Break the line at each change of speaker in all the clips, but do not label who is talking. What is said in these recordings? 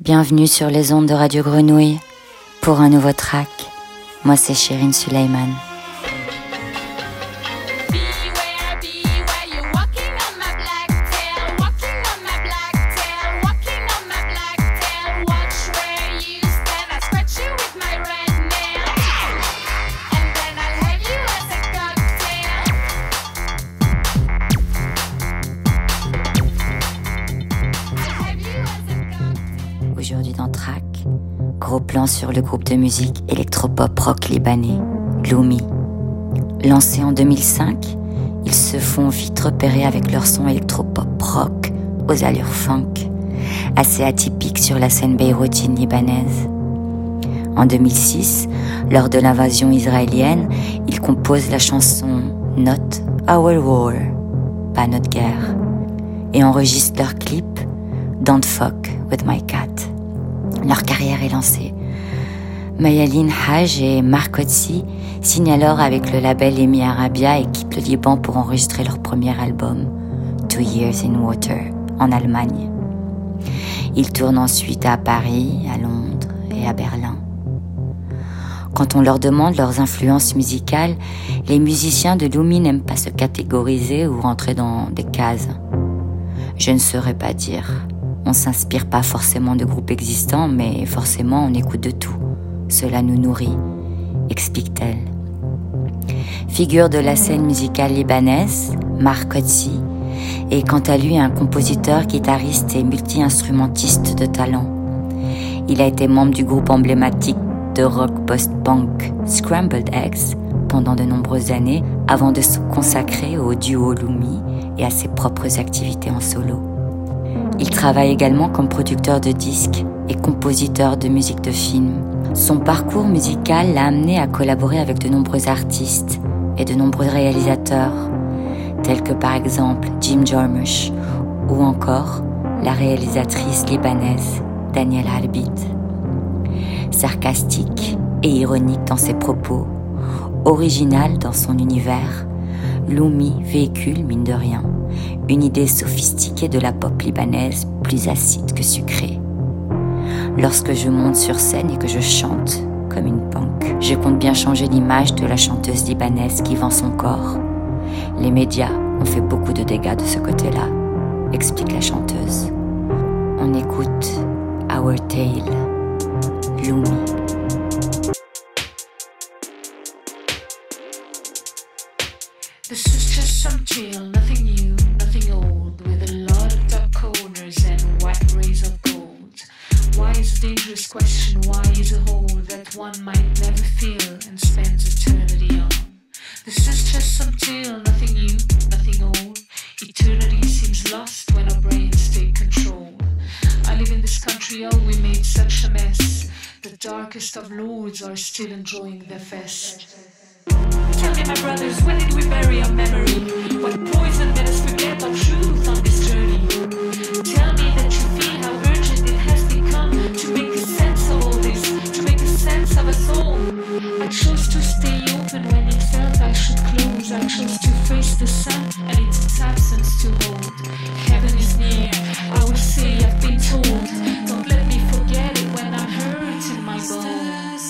Bienvenue sur les ondes de Radio Grenouille pour un nouveau track. Moi c'est Chérine Sulaiman. Aujourd'hui dans Track, gros plan sur le groupe de musique électropop rock libanais, Loumi. Lancés en 2005, ils se font vite repérer avec leur son électropop rock aux allures funk, assez atypiques sur la scène beyroutine libanaise. En 2006, lors de l'invasion israélienne, ils composent la chanson Not Our War, pas notre guerre, et enregistrent leur clip Don't Fuck With My Cat. Leur carrière est lancée. Mayalin Haj et Mark Otzi signent alors avec le label EMI Arabia et quittent le Liban pour enregistrer leur premier album, 2 Years in Water, en Allemagne. Ils tournent ensuite à Paris, à Londres et à Berlin. Quand on leur demande leurs influences musicales, les musiciens de Loumi n'aiment pas se catégoriser ou rentrer dans des cases. Je ne saurais pas dire. On s'inspire pas forcément de groupes existants, mais forcément on écoute de tout. Cela nous nourrit, explique-t-elle. Figure de la scène musicale libanaise, Mark Otzi est quant à lui un compositeur, guitariste et multi-instrumentiste de talent. Il a été membre du groupe emblématique de rock post-punk Scrambled Eggs pendant de nombreuses années avant de se consacrer au duo Loumi et à ses propres activités en solo. Il travaille également comme producteur de disques et compositeur de musique de film. Son parcours musical l'a amené à collaborer avec de nombreux artistes et de nombreux réalisateurs, tels que par exemple Jim Jarmusch ou encore la réalisatrice libanaise Danielle Harbit. Sarcastique et ironique dans ses propos, original dans son univers, Loumi véhicule, mine de rien, une idée sophistiquée de la pop libanaise plus acide que sucrée. Lorsque je monte sur scène et que je chante comme une punk, je compte bien changer l'image de la chanteuse libanaise qui vend son corps. Les médias ont fait beaucoup de dégâts de ce côté-là, explique la chanteuse. On écoute Our Tale, Loumi.
This is just some tale, nothing new, nothing old, with a lot of dark corners and white rays of gold. Why is a dangerous question? Why is a hole that one might never feel and spends eternity on? This is just some tale, nothing new, nothing old. Eternity seems lost when our brains take control. I live in this country, oh, we made such a mess. The darkest of lords are still enjoying their fest. Tell me, my brothers, when did we bury our memory? What poison made us forget our truth on this journey? Tell me that you feel how urgent it has become to make a sense of all this, to make a sense of us all. I chose to stay open when it felt I should close. I chose to face the sun and its absence to hold. Heaven is near, I will say I've been told. Don't let me forget it when I'm hurt in my bones.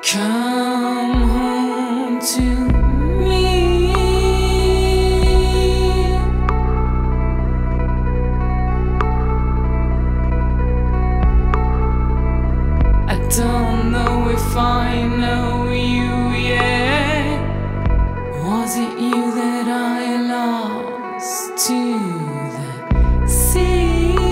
Come home to me. I don't know if I know you yet. Was it you that I lost to the sea?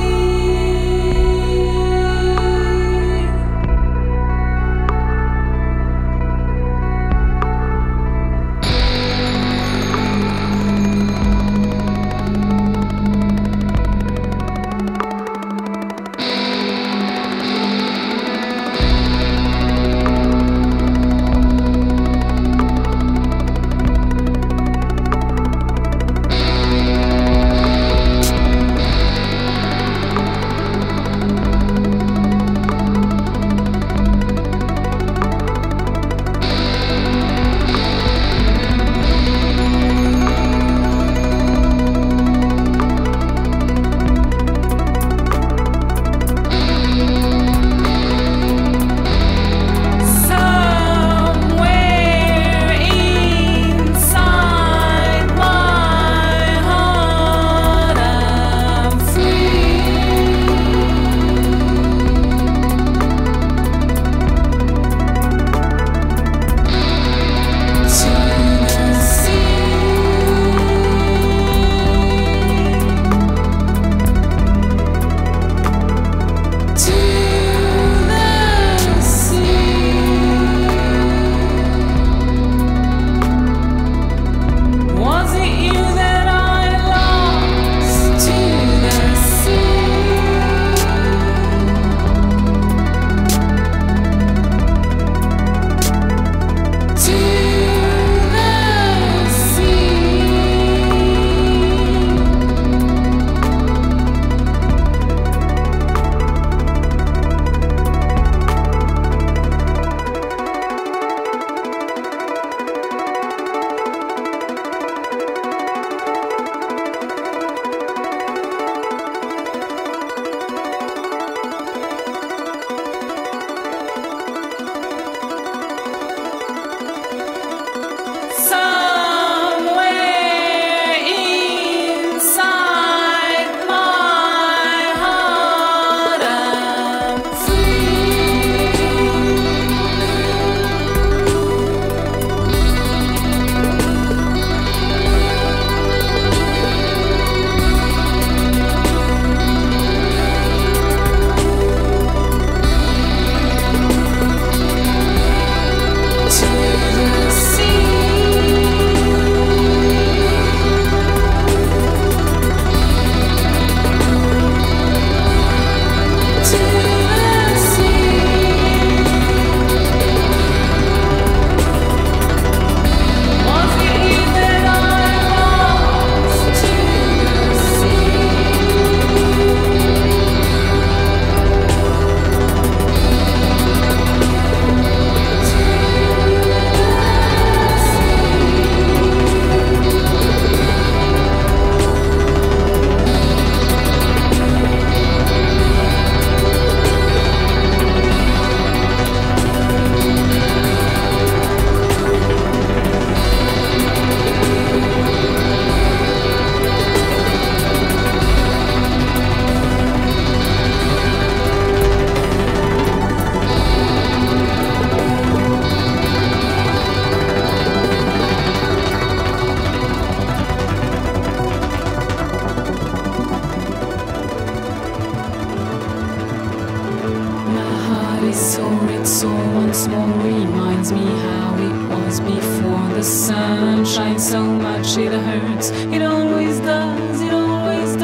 sun shines so much it hurts. It always does, it always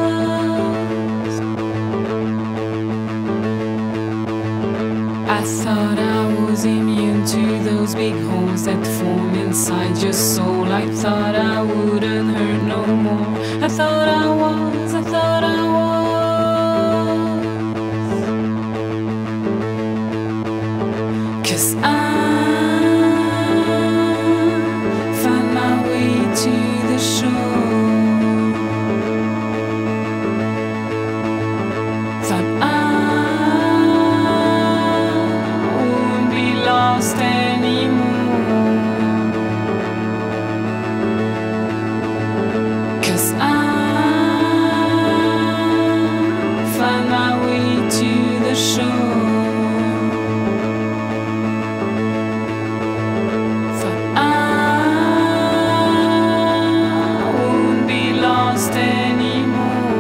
does. I thought I was immune to those big holes that form inside your soul. I thought I wouldn't hurt no more. I thought I was, I thought I was. 'Cause I find my way to the shore. Thought I wouldn't be lost. lost anymore. 'Cause I find my way to the shore. For I won't be lost anymore.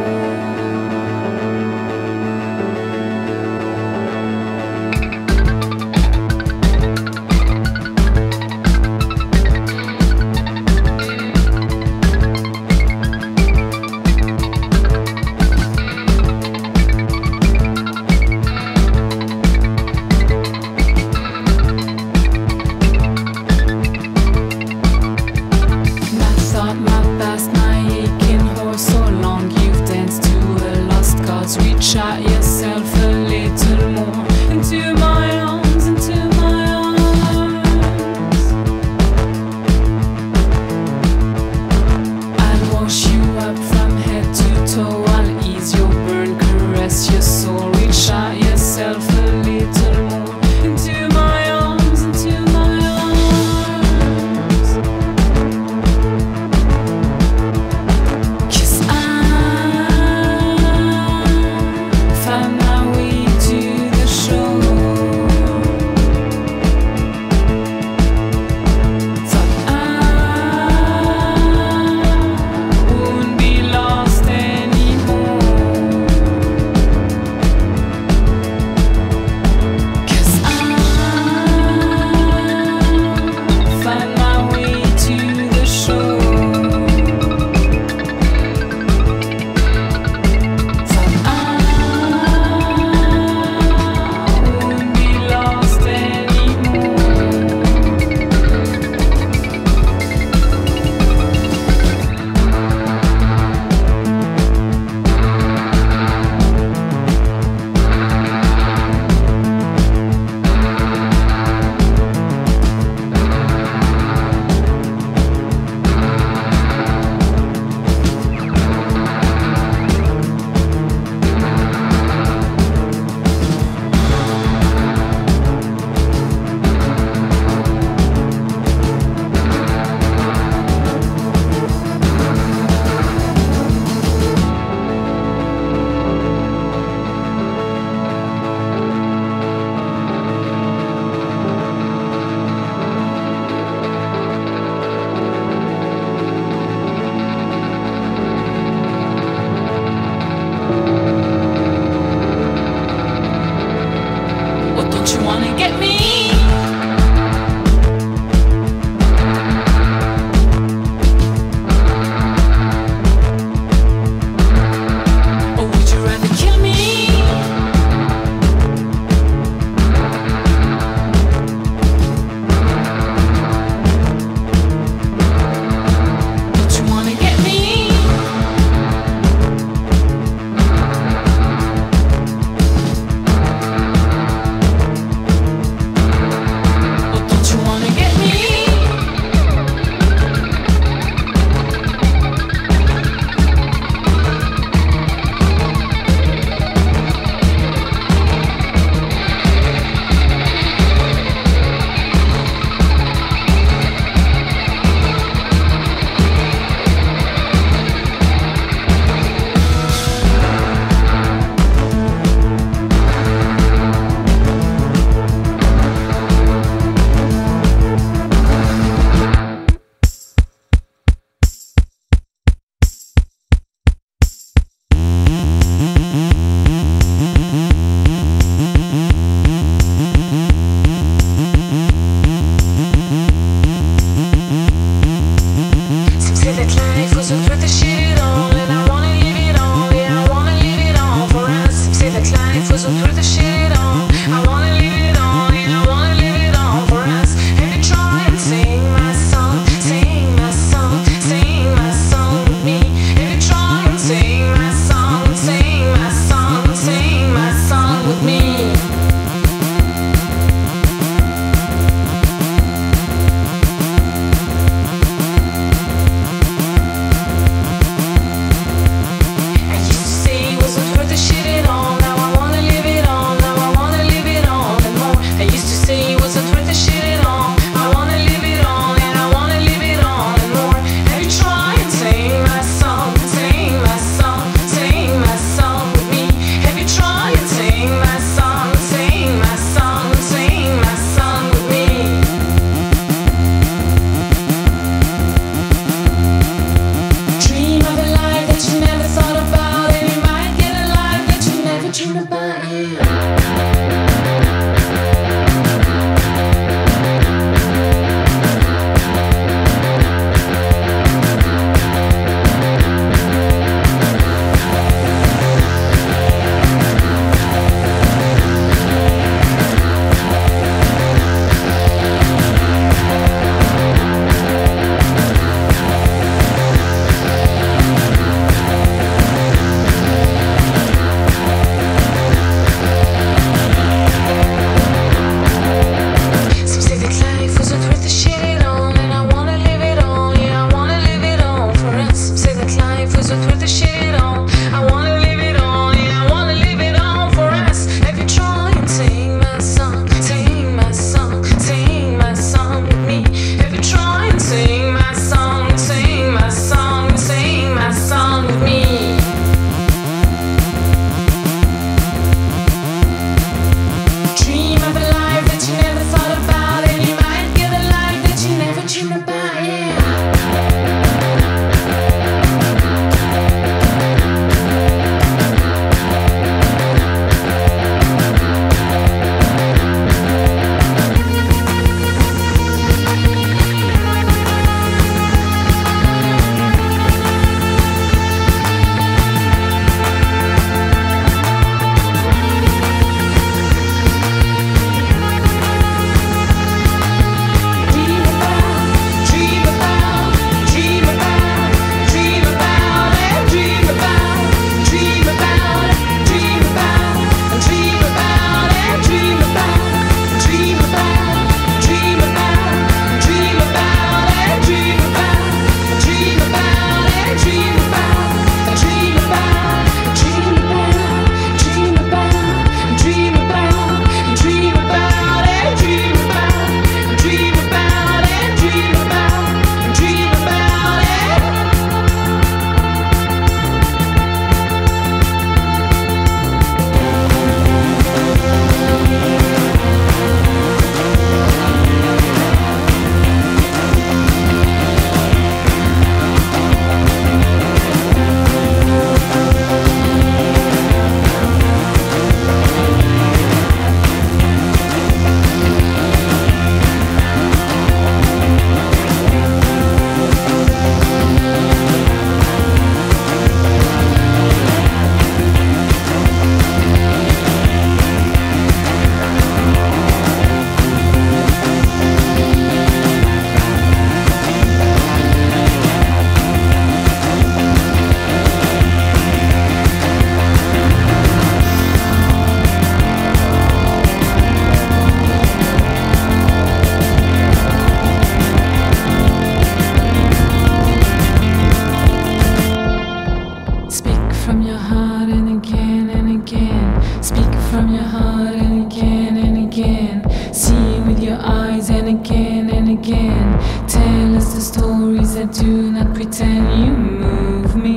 your eyes and again. Tell us the stories that do not pretend. You move me.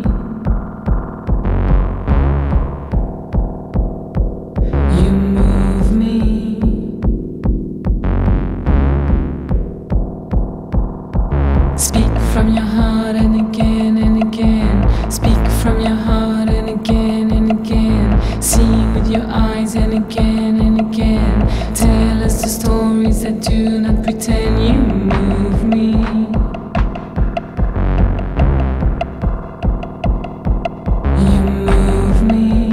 You move me. Speak from your heart and again. Speak from your heart and again. See with your eyes and again. Tell us the stories that do not pretend. You move me. You move me.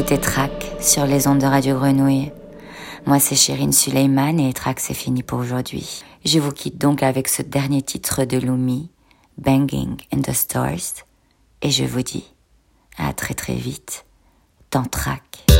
écoutez Track sur les ondes de Radio Grenouille. Moi c'est Chérine Suleiman et Track c'est fini pour aujourd'hui. Je vous quitte donc avec ce dernier titre de Lumi, Banging in the Stars, et je vous dis à très très vite dans Track.